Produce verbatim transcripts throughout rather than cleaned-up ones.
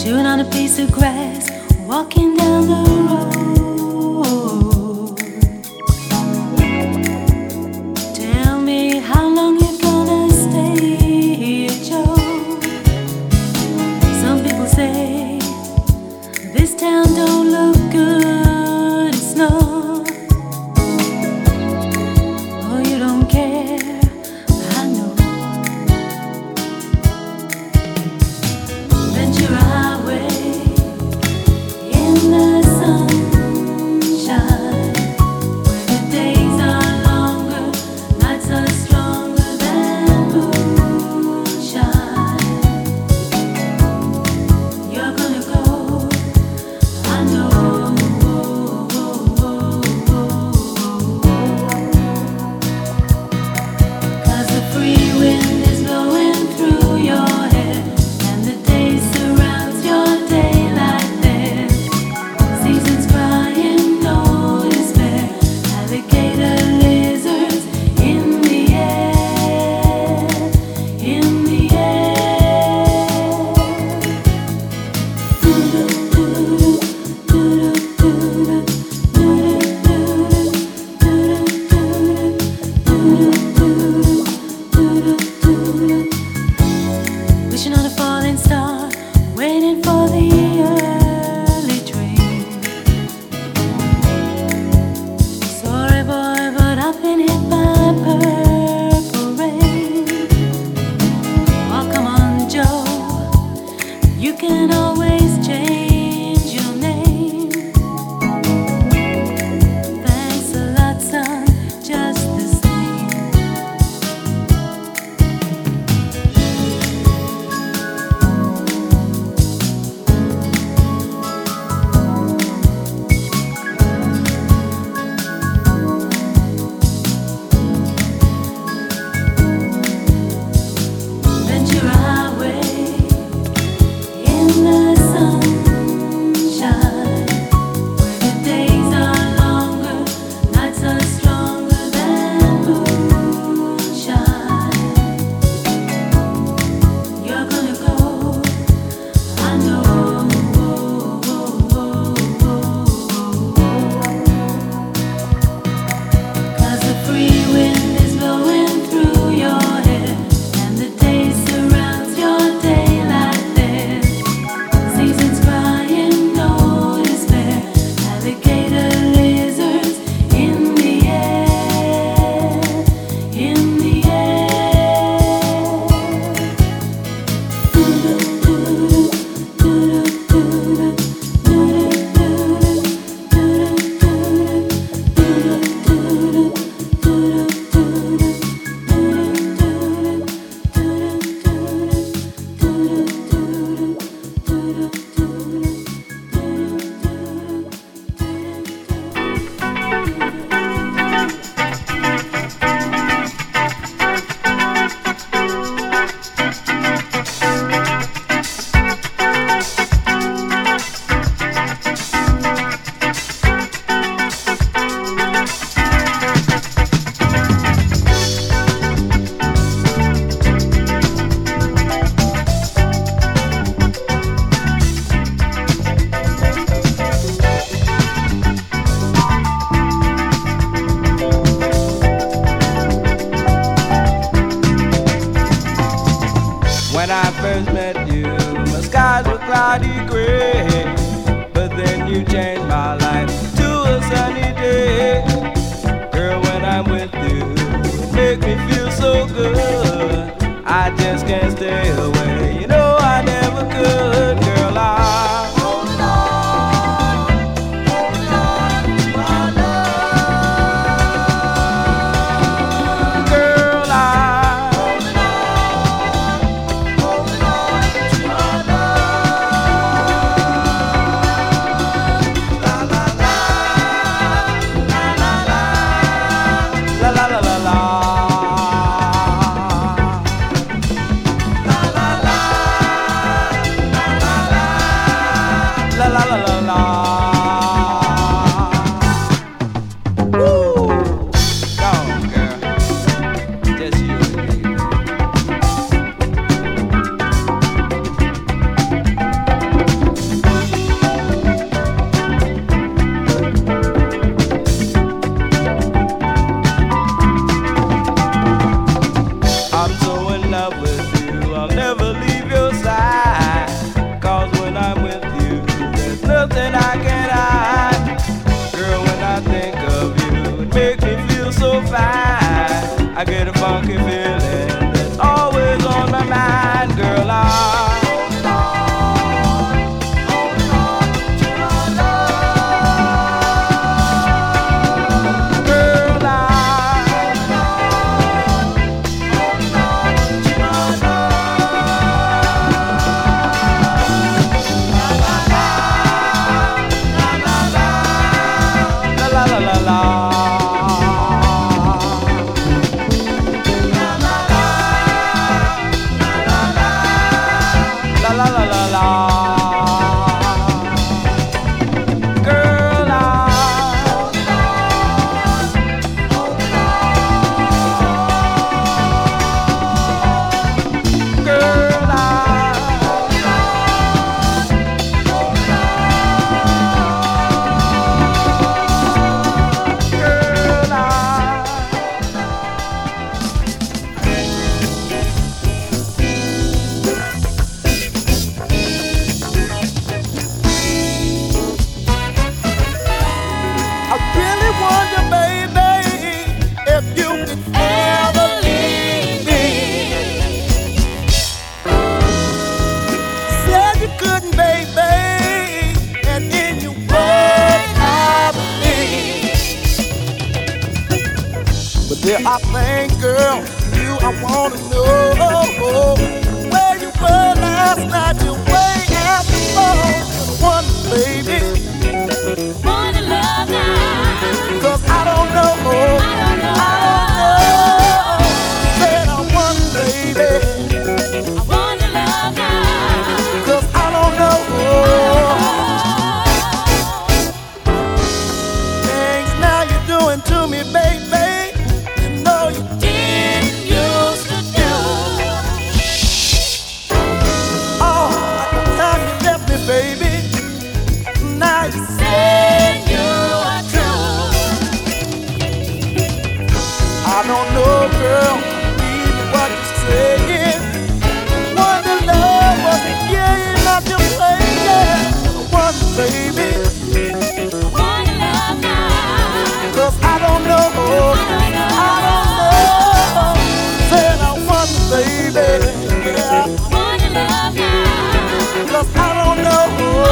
Doing on a piece of grass, walking down the road. Tell me how long you're gonna stay, Joe. Some people say this town don't look good, it's not. Oh, you don't care, I know. Ventura Highway in the sunshine, where the days are longer, nights are stronger than moonshine. You're gonna go, I know. 'Cause the free wind is blowing through your hair, and the day surrounds your daylight there. Seasons crying, no despair. Alligator lizards in the air, in the air. Wishing on a falling star, waiting for the early train. Sorry, boy, but I've been hit by purple rain. Oh, come on, Joe, you can always change your name. Thanks a lot, son, just the same. Ventura Highway in the sunshine, where the days are longer, nights are stronger than moonshine. You're gonna go, I know. 'Cause the free wind is blowing through your hair, and the day surrounds your daylight there. Seasons crying, no despair. Alligator lizards in the air, in the When I first met you, my skies were cloudy gray, but then you changed my life to a sunny day. Girl, when I'm with you, it makes me feel so good. I just can't stay away. You know I never could. Girl, I hold on, hold on to my love. Girl, I hold on, hold on to my love. La la la, la la la, la la la la la. La la Yeah, I think, girl, you, I wanna know where you were last night. You way after four. One, baby. Wanna love now. 'Cause I don't know. I don't know. I don't know. Said I want, baby. I wanna love now. 'Cause I don't know. Things now you're doing to me, baby. You know you Didn't used to do. Oh, like the time you left me, baby. Now you Say you are true. I don't know, girl, even what you're saying. Wonder love was a game, not to play, yeah. Wonder, baby, Wanna love now. 'cause I don't know, I don't know. Said I wonder, baby, yeah, Wanna love now. 'cause I don't know.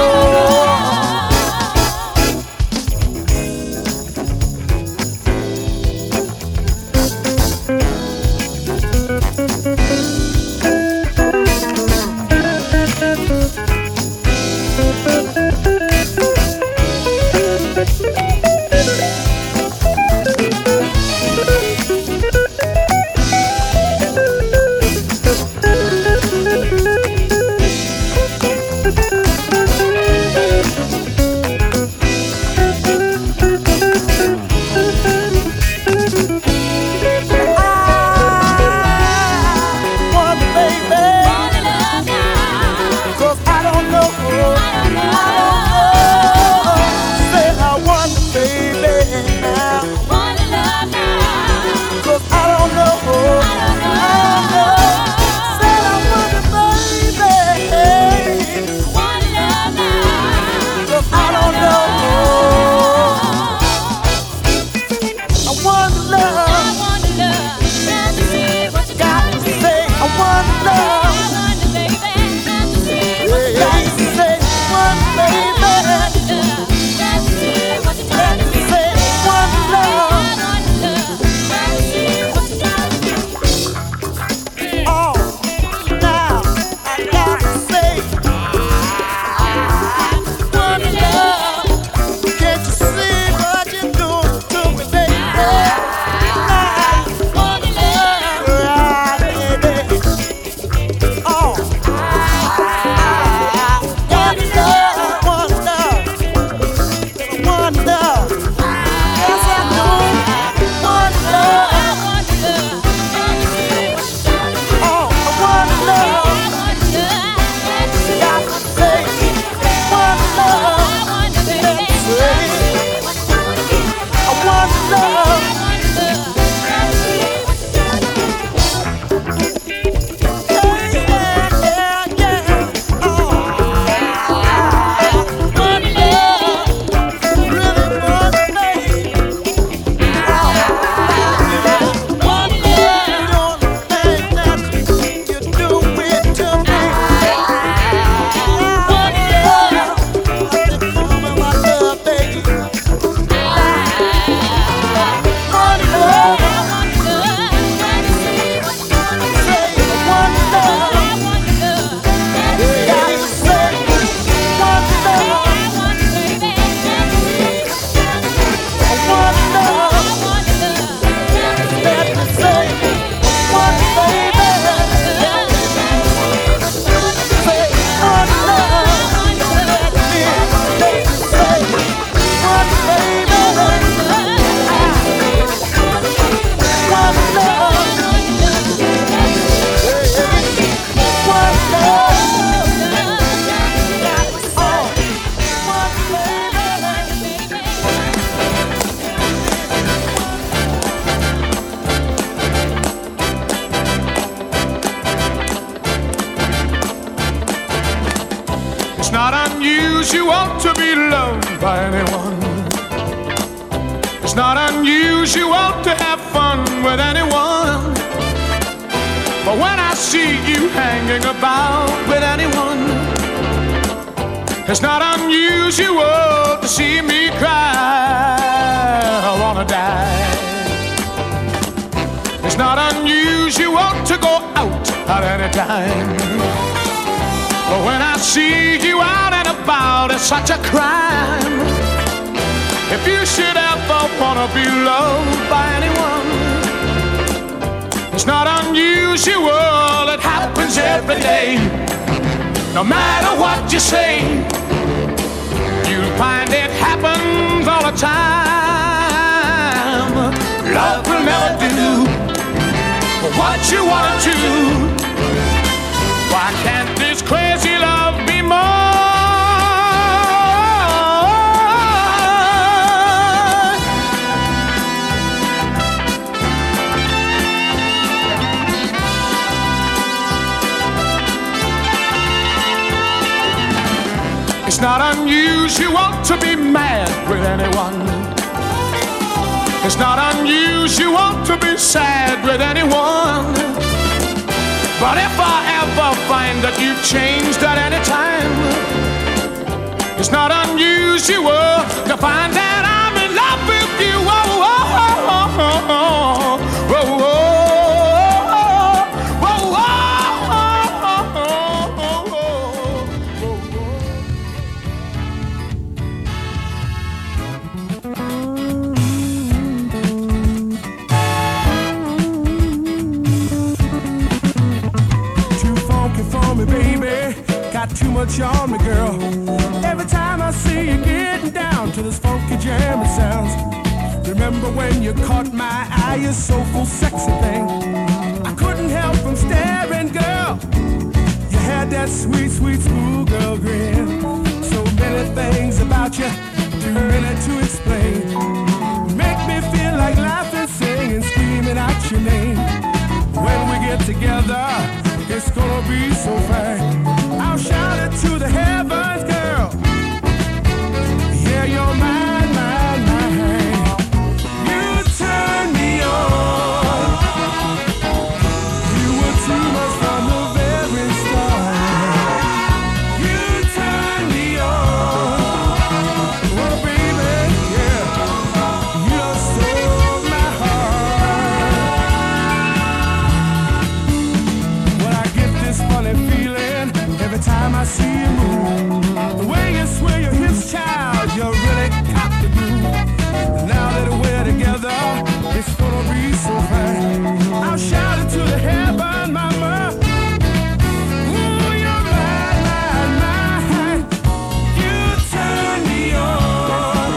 unusual to be loved by anyone. It's not unusual to have fun with anyone. But when I see you hanging about with anyone, it's not unusual to see me cry. I wanna die. not unusual to go out at any time. But when I see you out and about, it's such a crime. If you should ever wanna be loved by anyone, it's not unusual, it happens every day. No matter what you say, you'll find it happens all the time. Love will never do what you want to. Why can't this crazy love be more? It's not unusual to be mad with anyone. It's not unusual to be sad with anyone. But if I ever find that you've changed at any time, it's not unusual to find that I'm in love with you. Oh, oh, oh, oh, oh, oh, oh. Too much on me, girl. Every time I see you getting down to this funky jam, it sounds. Remember when you caught my eye, you soulful, sexy thing. I couldn't help from staring, girl. You had that sweet, sweet schoolgirl grin. So many things about you, too many to explain. Make me feel like laughing, singing, screaming out your name. When we get together, it's gonna be so fine. I'll shout it to the heavens, girl. Yeah, you're mine, mine, mine. You turn me on. You were too much from the very start. You turn me on. Oh, baby, yeah. You stole my heart. When I get this funny feeling every time I see you move, the way you sway your hips, child, you really got the groove. Now that we're together, it's gonna be so fine. I'll shout it to the heaven, mama. Ooh, you're mine, mine, mine. You turn me on.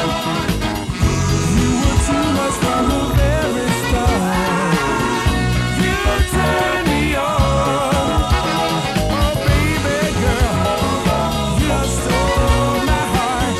You were too much from the very start. You turn me on. Oh, baby girl, you stole my heart.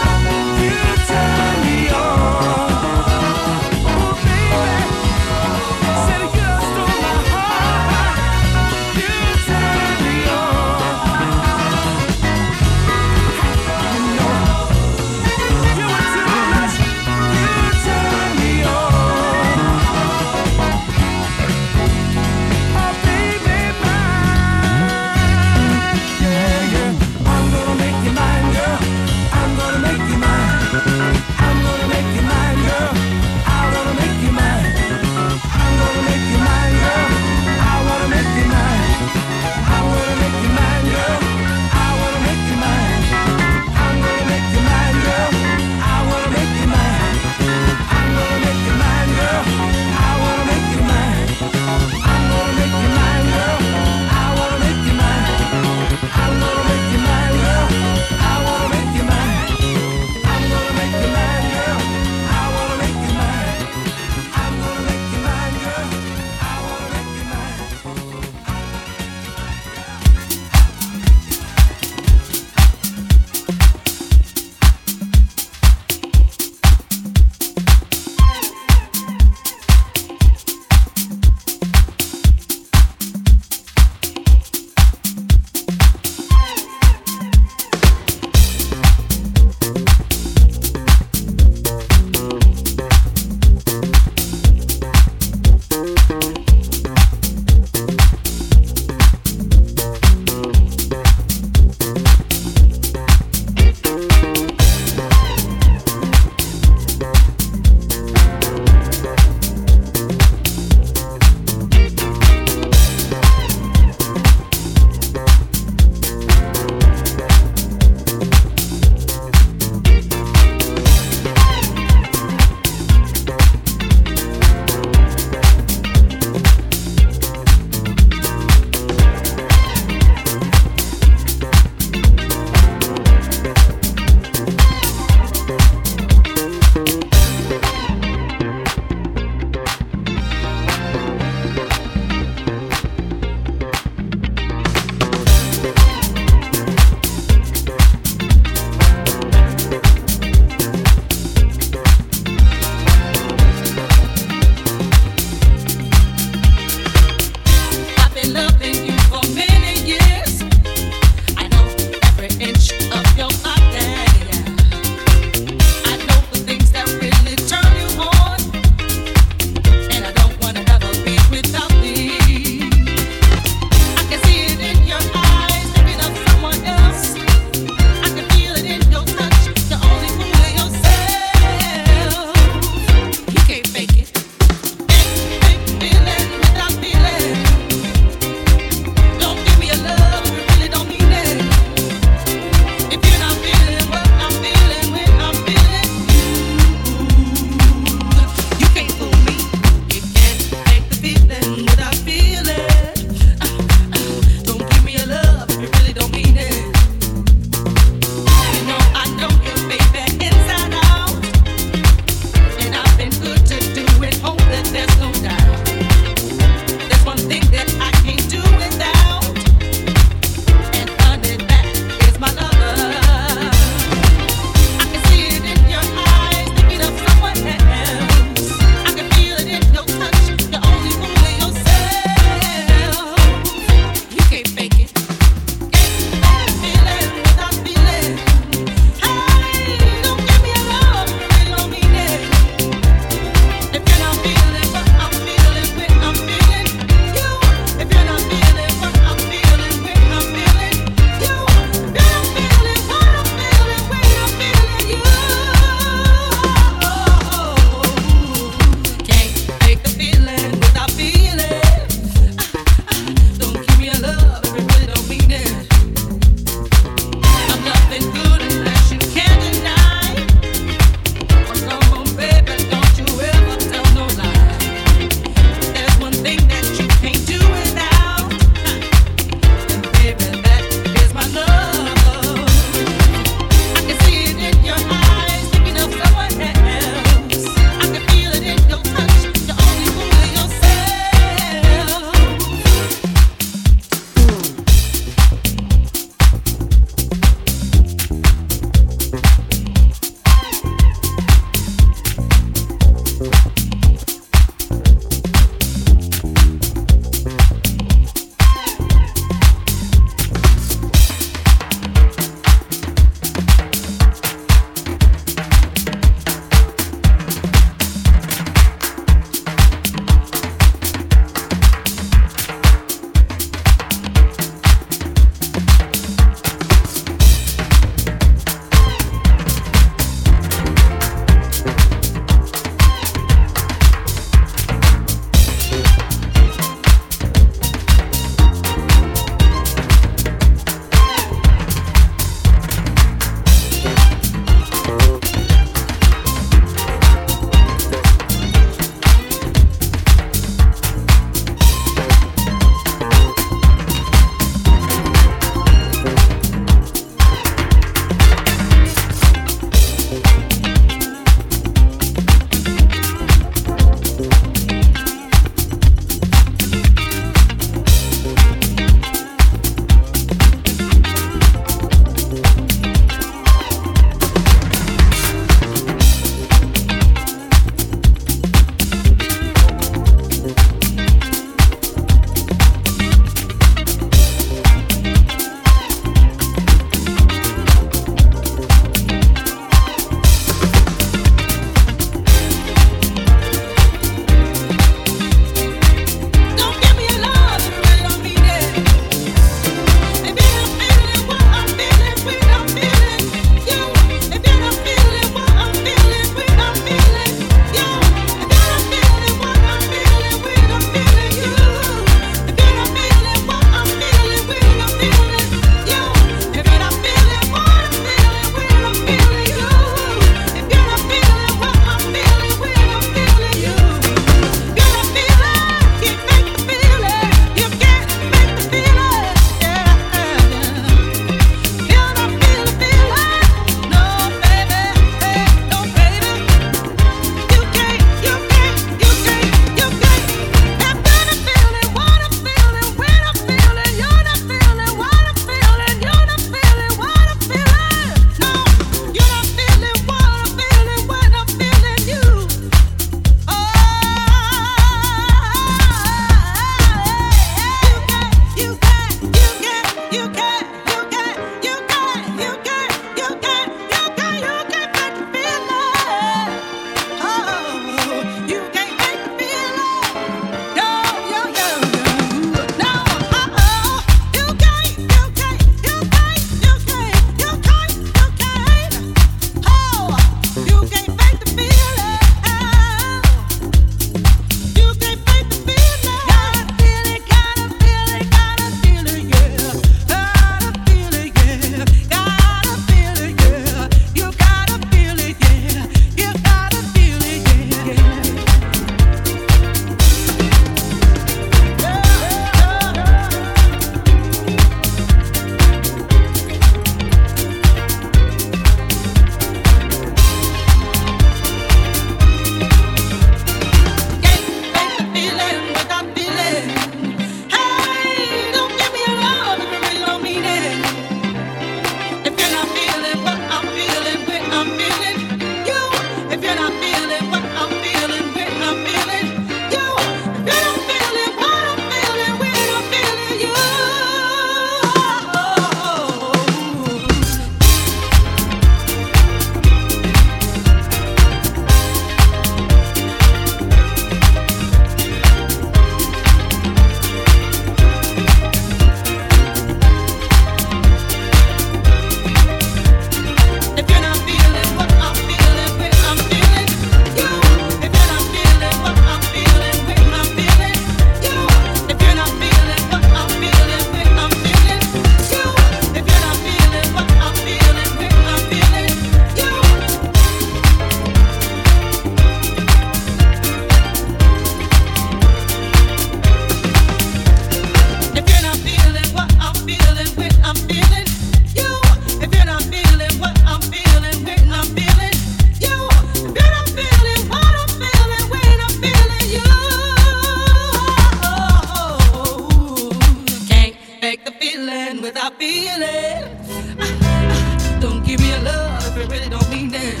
without feeling. Don't give me a love if it really don't mean that.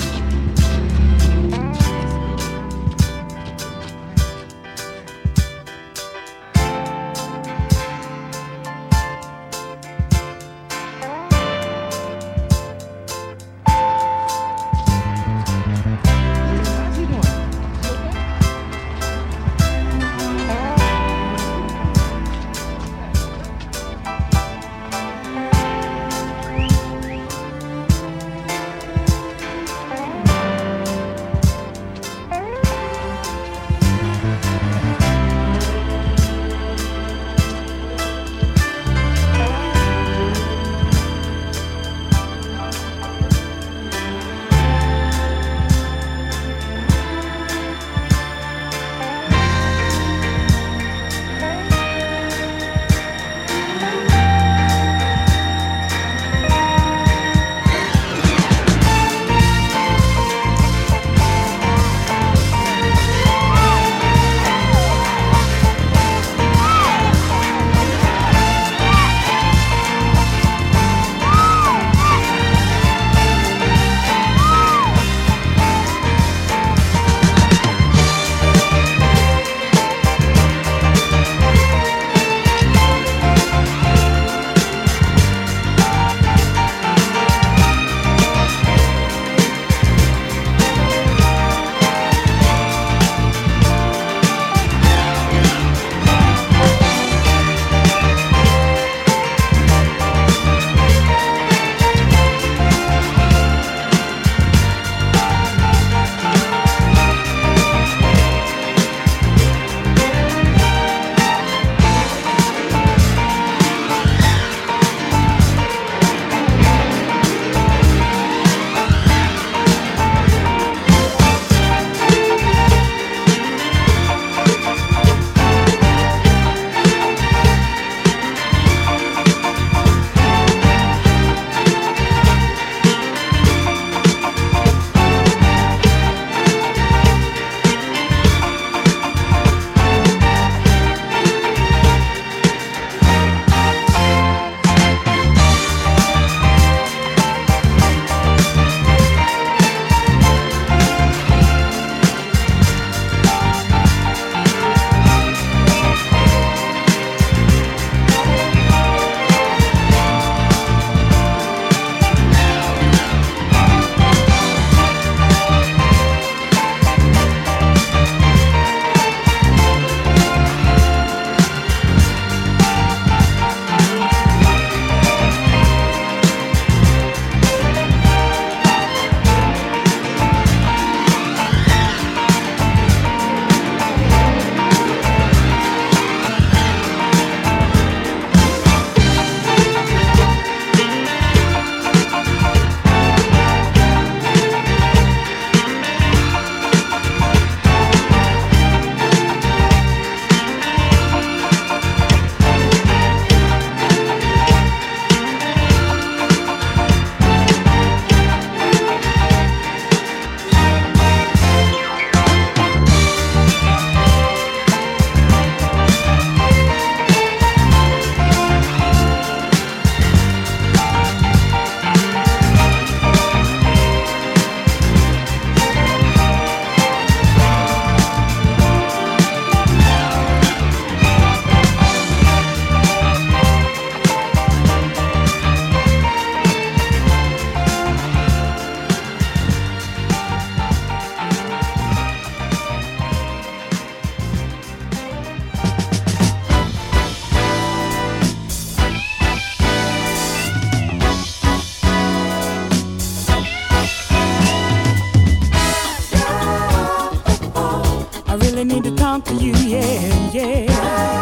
talk to you, yeah, yeah.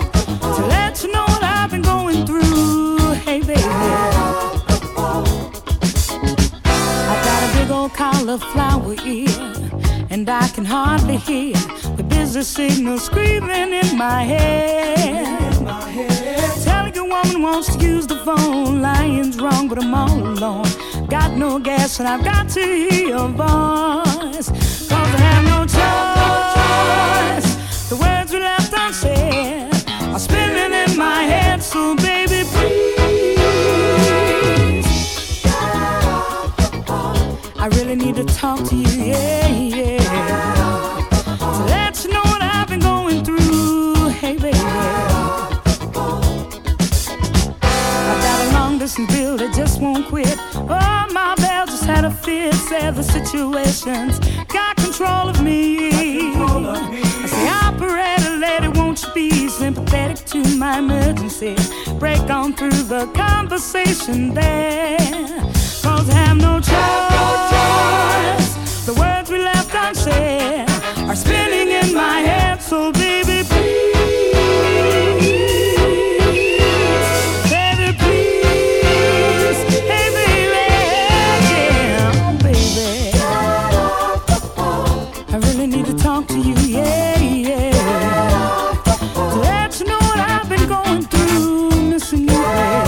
To let you know what I've been going through, hey baby. I've got a big old cauliflower ear, and I can hardly hear the busy signal screaming in my head. Telling a woman wants to use the phone, lying's wrong, but I'm all alone. Got no gas and I've got to hear your voice, 'cause I have no choice. The words we left unsaid are spinning in my head, so baby please talk to you, yeah, yeah. To let you know what I've been going through, hey baby. I've got a long distance bill that just won't quit. Oh, my bell just had a fit. Said the situation's got control of me. I say, operator lady, won't you be sympathetic to my emergency? Break on through the conversation there. Cause I have no choice. The words we left unsaid are spinning in my head. So baby, please, baby, please, hey baby, yeah, oh baby, I really need to talk to you, yeah, yeah. To let you know what I've been going through, missing you, baby.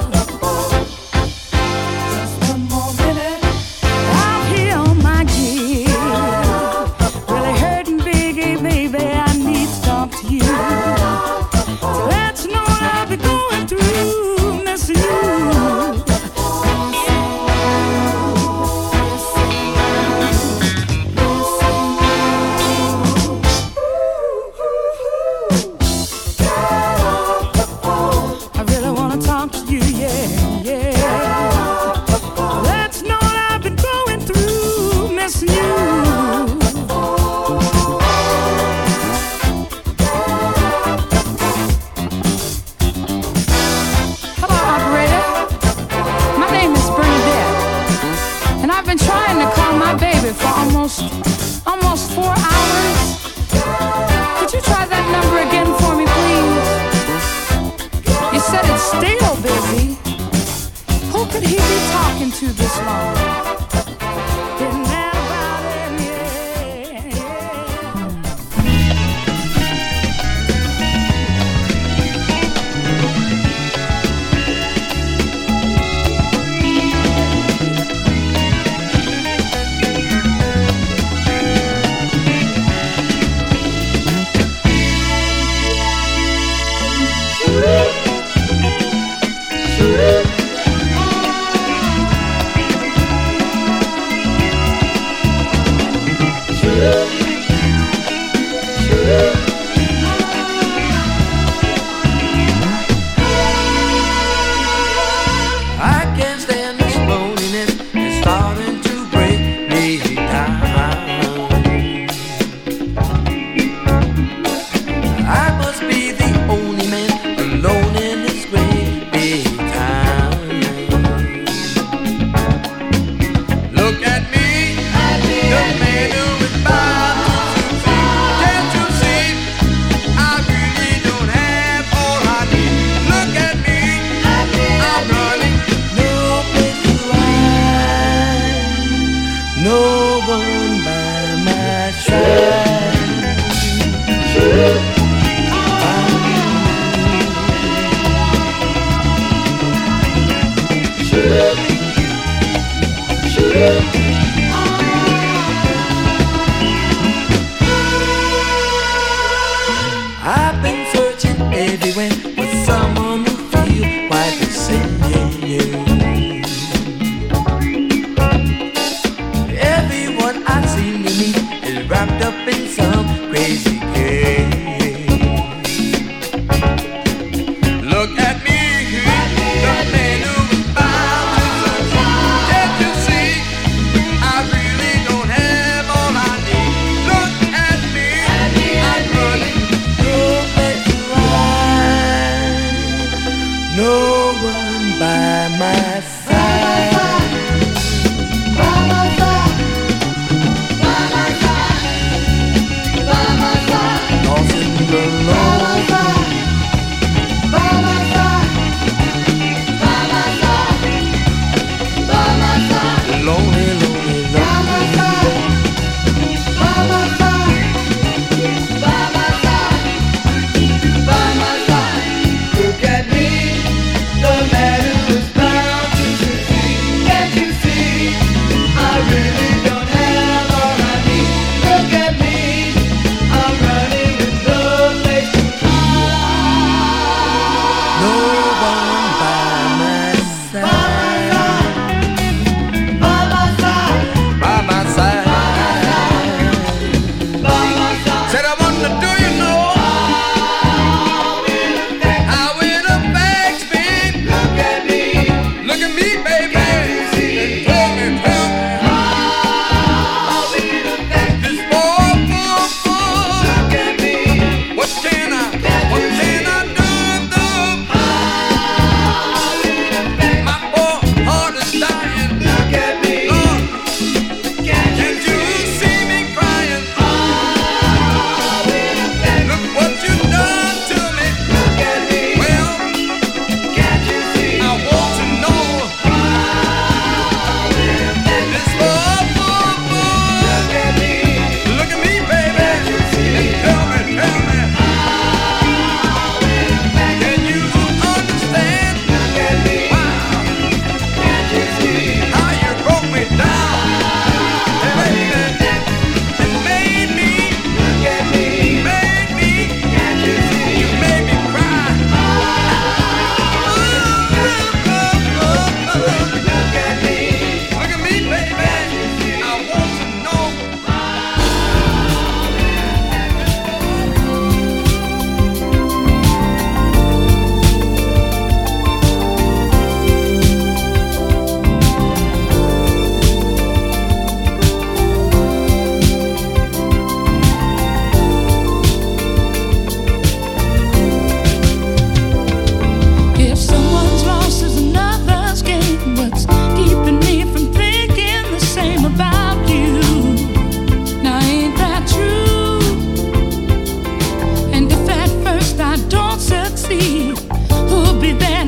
Almost four hours. Could you try that number again for me, please? You said it's still busy. Who could he be talking to this long? Isn't that about it? Yeah,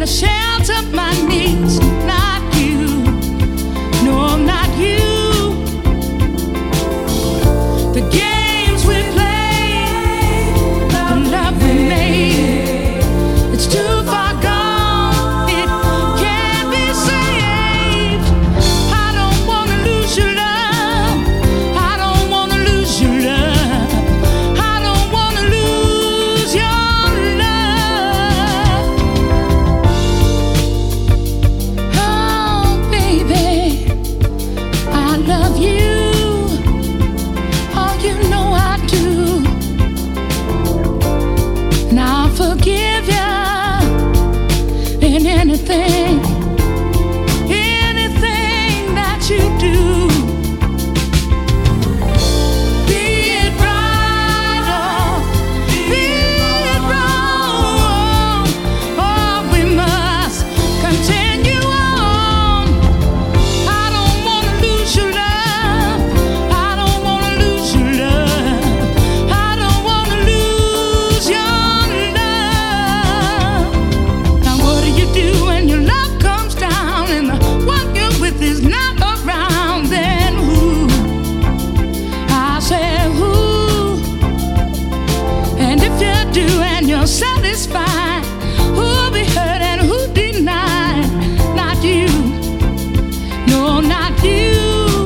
the shelter of my needs. Not you, no, not you. The games we play, the love we made, it's too far gone, it can't be saved. I don't wanna lose your love, I don't wanna lose your love, I don't wanna lose your love. Oh baby, I love you. You know I do, and I'll forgive you in anything, anything that you do. Be it right or be it wrong, oh, we must continue on. I don't wanna lose your love, I don't wanna lose your love, I don't wanna lose your love. Now what do you do when your love comes down and the one you're with is not around? Then who? I said who? And if you do and you're satisfied, who'll be hurt and who denied? Not you, no, not you.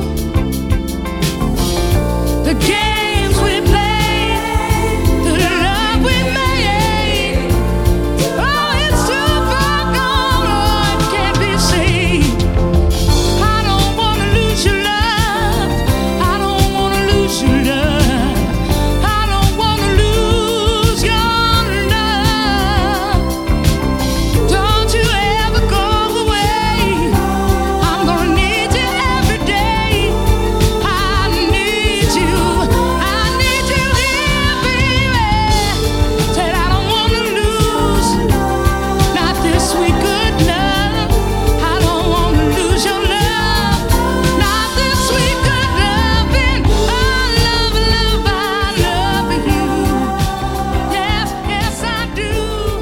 The games we played, the love we made, oh, it's too far gone, oh, it can't be saved. I don't wanna lose your love, I don't wanna lose your love, I don't wanna lose your love. Don't you ever go away, I'm gonna need you every day. I need you, I need you here, baby. Said I don't wanna lose, not this sweet good love. I don't wanna lose your love, not this sweet good loving. I love, love, I love you. Yes, yes I do.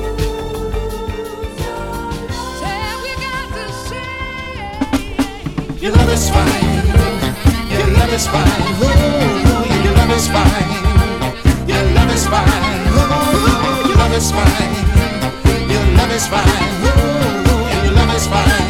Said we got to say. Your love is fine. Your love is fine. Oh, your love is fine. Your love is fine. Oh, your love is fine. Your love is fine. Oh, your love is fine.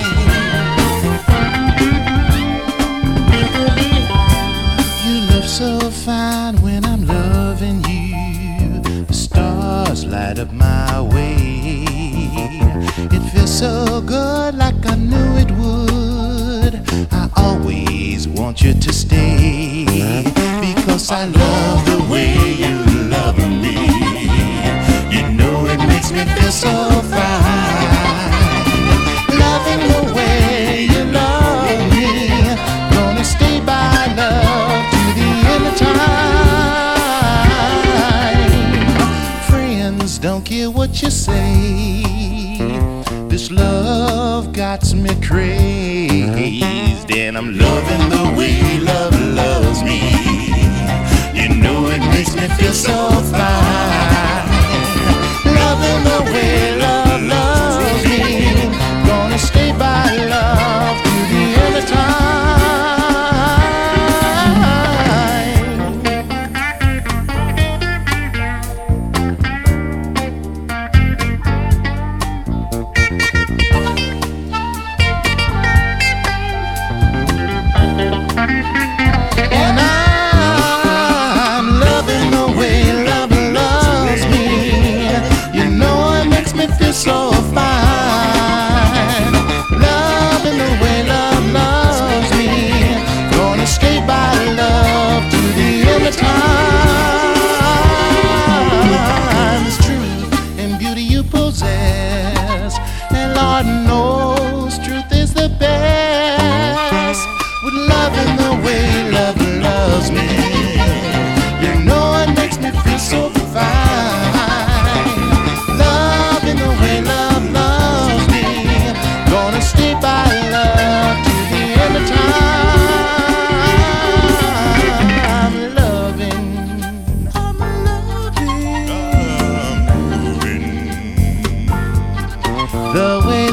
You look so fine when I'm loving you. The stars light up my way. It feels so good, like I knew it would. I always want you to stay, because I love the way you love me. You know it makes me feel so fine. Loving the way you love me, gonna stay by love to the end of time. Friends don't care what you say, this love got me crazed, and I'm loving the way love loves me. You know it makes me feel so fine. Loving the way love loves me, gonna stay by love to the end of time. And I'm loving the way love loves me. You know it makes me feel so fine. Loving the way love loves me, gonna stay by love to the end of time. It's truth and beauty you possess, and Lord knows truth is the best. With love in the way love loves me, you know it makes me feel so fine. Love in the way love loves me, gonna stay by love to the end of time. I'm loving, I'm loving, I'm loving the way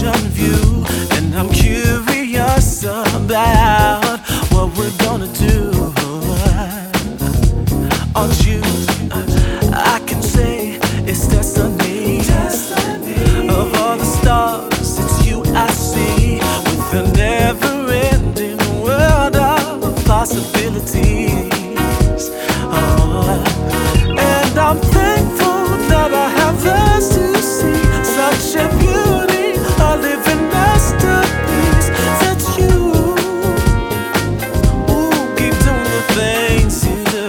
reflection of you, and I'm curious about what we're gonna do. Aren't you? I can say it's destiny. destiny. Of all the stars, it's you I see, with a never-ending world of possibilities. Oh, and I'm thankful that I have this to see, such a beauty, a living masterpiece. That's you. Ooh, keep doing the things you do.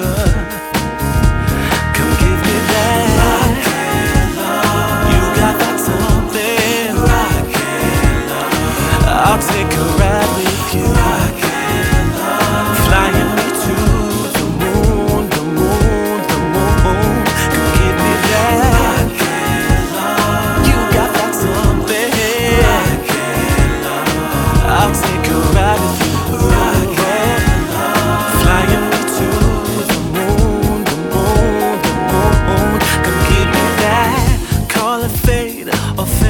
Come give me that. Rock and love. You got that something. Rock and love. I'll take a ride with you. Rock and love. Flying me to the moon, the moon, the moon. Come give me that. Rock and love. You got that something. Rock and love. I'll take a ride with you. Rock and love. Flying me to the moon, the moon, the moon. Come give me that. Call it fate or